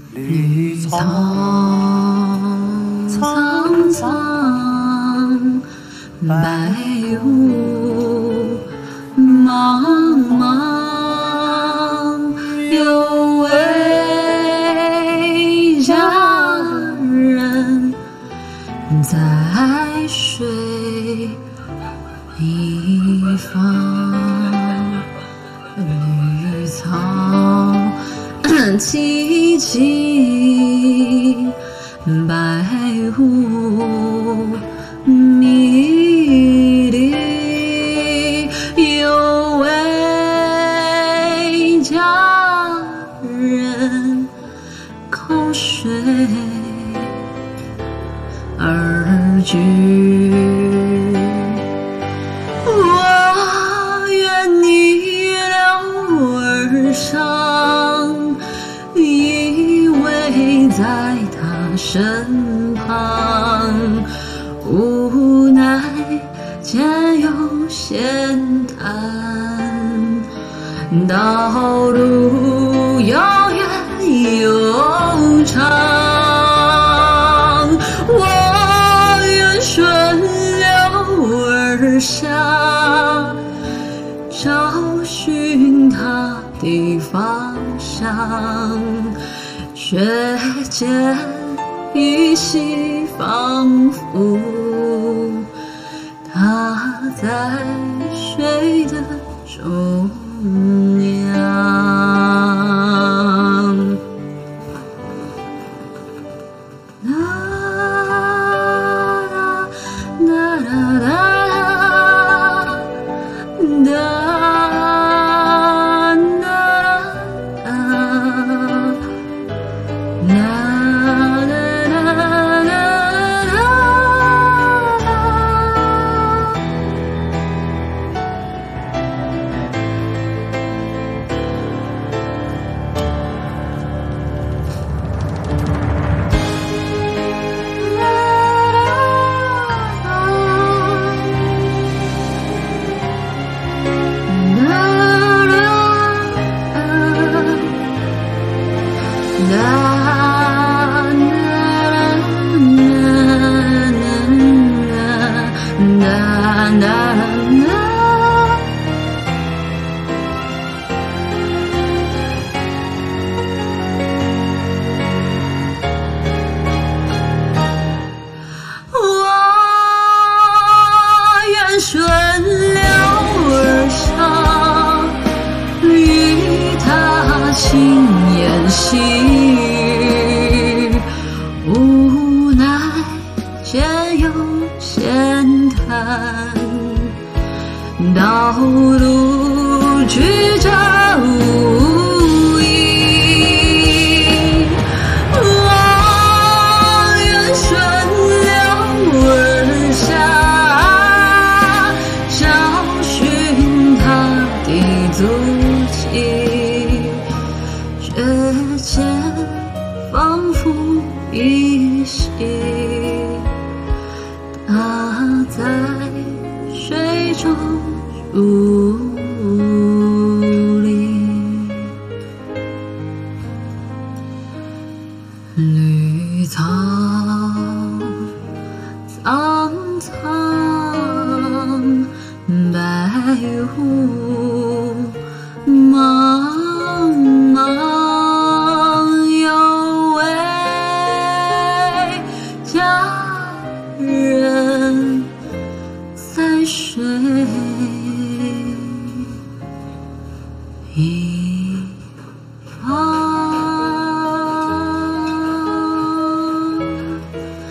绿草苍苍，白雾茫茫，有位佳人在水一方，绿草萋萋，白雾迷离，有位佳人口水而居。我愿逆流而上，依偎在他身旁，无奈间有险滩，道路遥远又长，我愿顺流而下，找寻他的方向，却见依稀仿佛他在水的中央。顺流而上，与他轻言细语，无奈间有险滩，道路曲折无依，我愿顺流而下，足迹，却见仿佛依稀，他在水中伫立。绿草苍苍，白雾茫茫，有位佳人在水一